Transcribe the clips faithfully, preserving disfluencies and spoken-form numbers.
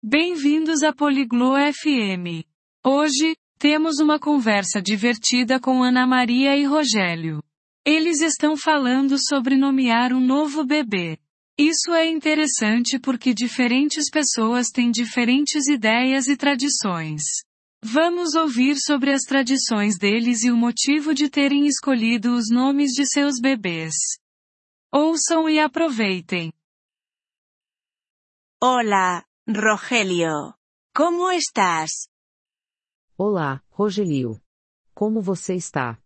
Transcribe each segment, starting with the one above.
Bem-vindos a Poliglo F M. Hoje, temos uma conversa divertida com Ana Maria e Rogério. Eles estão falando sobre nomear um novo bebê. Isso é interessante porque diferentes pessoas têm diferentes ideias e tradições. Vamos ouvir sobre as tradições deles e o motivo de terem escolhido os nomes de seus bebês. Ouçam e aproveitem. Hola, Rogelio. Como estás? Olá, Rogelio. Como você está?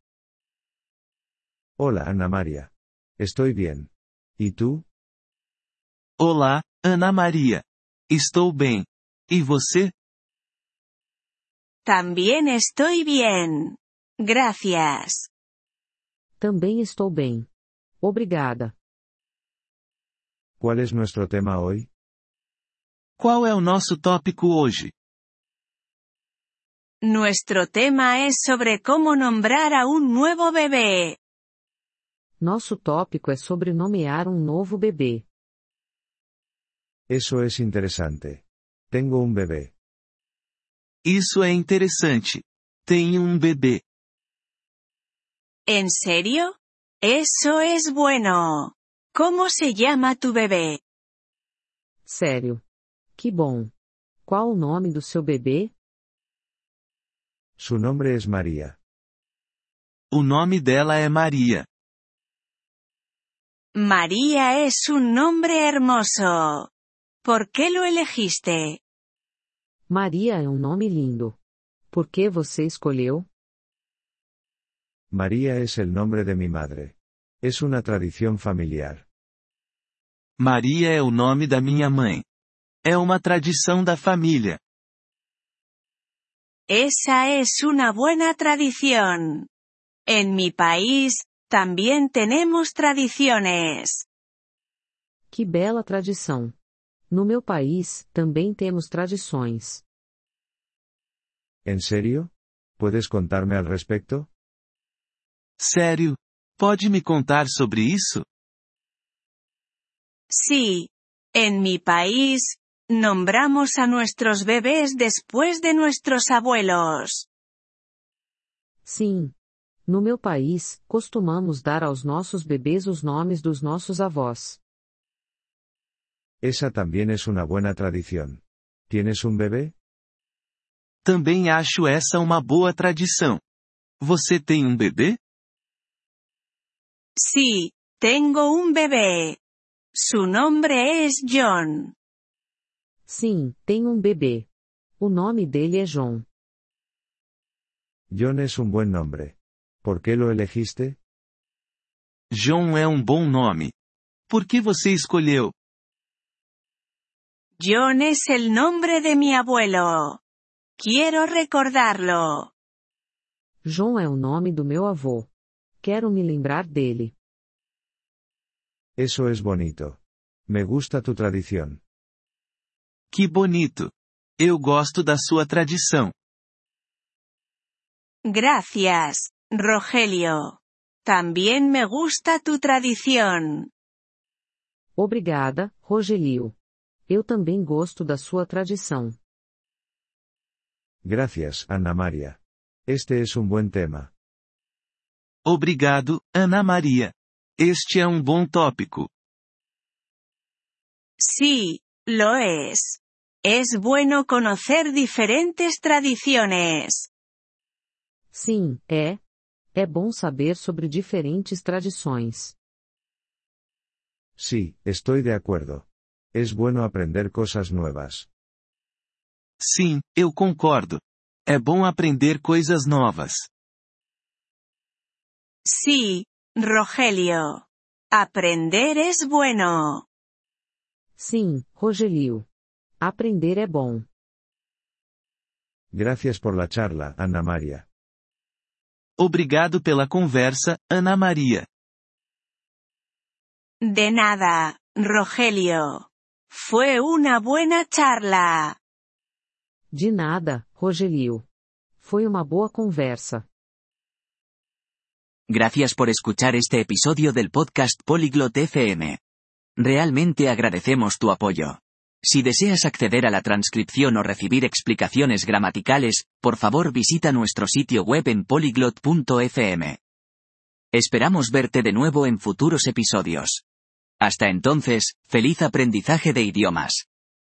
Hola Ana Maria. Estoy bien. ¿Y tú? Olá, Ana Maria. Estou bem. E você? También estoy bien. Gracias. Também estou bem. Obrigada. ¿Cuál es nuestro tema hoy? Qual é o nosso tópico hoje? Nuestro tema es sobre cómo nombrar a un nuevo bebé. Nosso tópico é sobre nomear um novo bebê. Eso es interesante. Tengo un bebé. Isso é interessante. Tenho um bebê. ¿En serio? Eso es bueno. ¿Cómo se llama tu bebé? Sério. Que bom. Qual o nome do seu bebê? Su nombre es María. O nome dela é Maria. María es un nombre hermoso. ¿Por qué lo elegiste? Maria é um nome lindo. Por que você escolheu? María es el nombre de mi madre. Es una tradición familiar. Maria é o nome da minha mãe. É uma tradição da família. Esa es una buena tradición. En mi país, también tenemos tradiciones. Que bela tradição. No meu país, também temos tradições. ¿En serio? ¿Puedes contarme al respecto? Sério? Pode me contar sobre isso? Sí. En mi país, nombramos a nuestros bebés después de nuestros abuelos. Sim. No meu país, costumamos dar aos nossos bebês os nomes dos nossos avós. Esa también es una buena tradición. ¿Tienes un bebé? Também acho essa uma boa tradição. Você tem um bebê? Sí, tengo un bebé. Su nombre es John. Sim, tenho um bebê. O nome dele é John. John es un buen nombre. ¿Por qué lo elegiste? John é um bom nome. Por que você escolheu? John es el nombre de mi abuelo. Quiero recordarlo. John é o nome do meu avô. Quero me lembrar dele. Eso es bonito. Me gusta tu tradición. Que bonito. Eu gosto da sua tradição. Gracias, Rogelio. También me gusta tu tradición. Obrigada, Rogelio. Eu também gosto da sua tradição. Gracias, Ana Maria. Este es un buen tema. Obrigado, Ana Maria. Este é um bom tópico. Sí, lo es. Es bueno conocer diferentes tradiciones. Sim, é. É bom saber sobre diferentes tradições. Sí, estoy de acuerdo. Es bueno aprender cosas nuevas. Sim, eu concordo. É bom aprender coisas novas. Sí, Rogelio. Aprender es bueno. Sim, Rogelio. Aprender é bom. Gracias por la charla, Ana Maria. Obrigado pela conversa, Ana Maria. De nada, Rogelio. Fue una buena charla. De nada, Rogelio. Foi uma boa conversa. Gracias por escuchar este episodio del podcast Polyglot F M. Realmente agradecemos tu apoyo. Si deseas acceder a la transcripción o recibir explicaciones gramaticales, por favor visita nuestro sitio web en polyglot punto f m. Esperamos verte de nuevo en futuros episodios. Hasta entonces, feliz aprendizaje de idiomas.